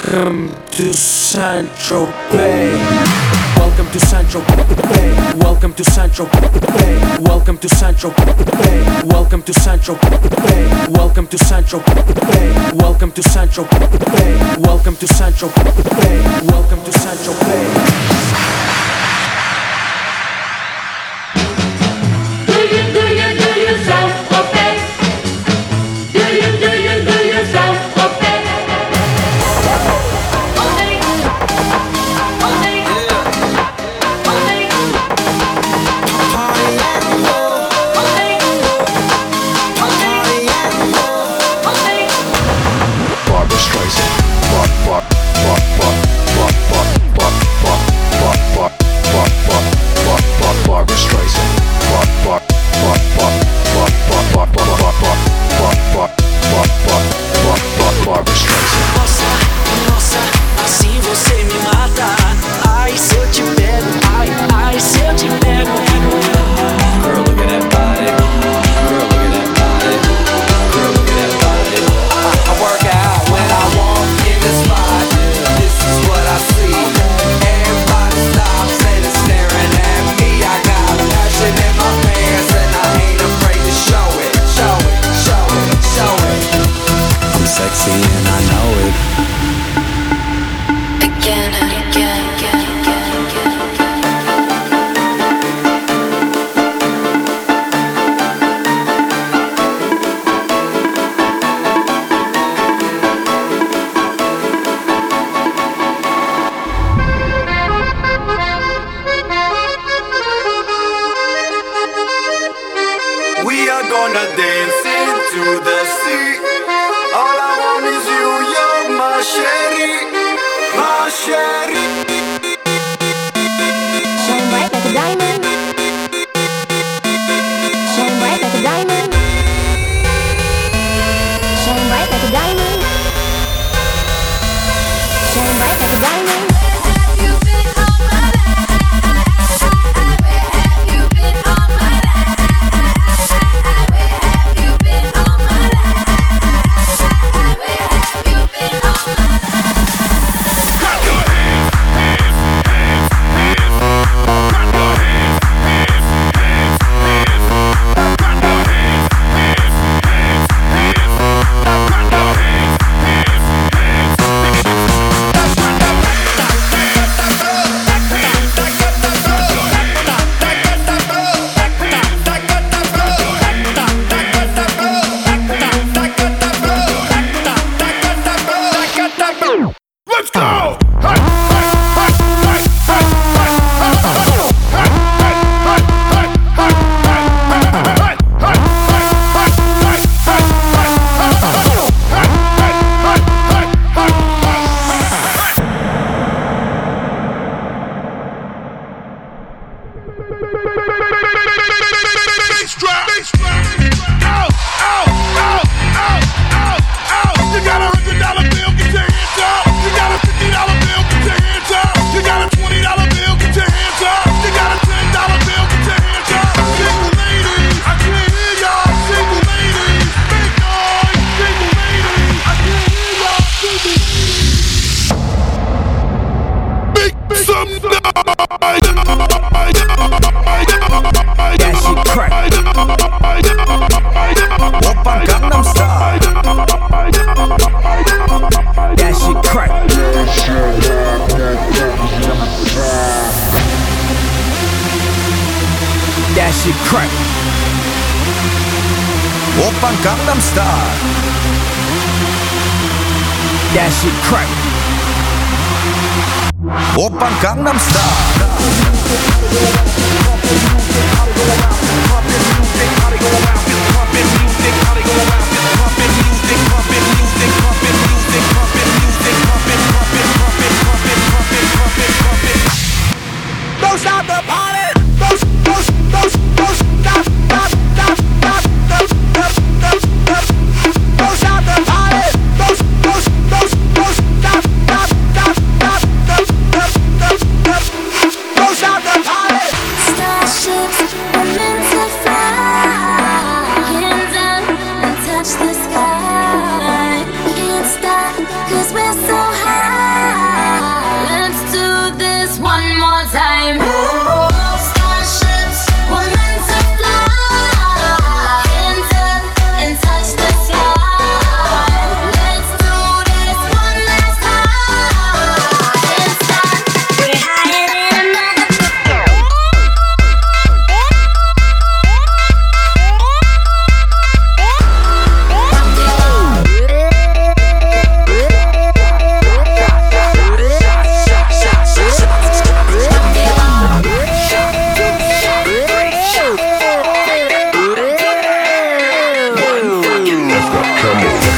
Welcome to Central Bay. Welcome to Central Bay. Welcome to Central Bay. Welcome to Central Bay. Welcome to Central Bay. Welcome to Central Bay. Welcome to Central Bay. Welcome to Central Bay. Welcome to Central Bay. Do yourself okay? Do yourself okay? Barbra Streisand. Barbra Streisand. Barbra Streisand. Nossa, assim você me mata. Ai, se eu te pego, ai, se eu te pego. Girl, look at that body. Girl, look at that body. Girl, look at that body. I work out when I walk in the spot. This is what I see. Everybody stops and is staring at me. I got passion in my pants and I ain't afraid to show it. Show it, show it, show it. I'm sexy and I know it. Again and again, again, again, again. We are gonna dance into the sea. All I want is you, you're my sherry, my sherry. Shine bright like a diamond. Shine bright like a diamond. Shine bright like a diamond. Shine bright like a diamond. Let's go! You got $100 bill, get your hands up. You got a $50 bill, get your hands up. You got a $20 bill, get your hands up. You got a $10 bill, get your hands up. Single ladies, I can't hear y'all. Single ladies, make noise. Single ladies, I can't hear y'all. Single ladies, make some noise. That shit crack. Oppa Gangnam Style. That shit crack. That shit crack. Oppa Gangnam Style. That shit crack. Oppa Gangnam Style. Don't stop the party. Don't stop, stop, stop, stop, stop, stop, stop, stop. Don't stop the party. Don't stop, stop, stop, stop, stop, stop, stop, stop, stop. Don't stop the party. Starships are meant to fly. Hands up and touch the Come on.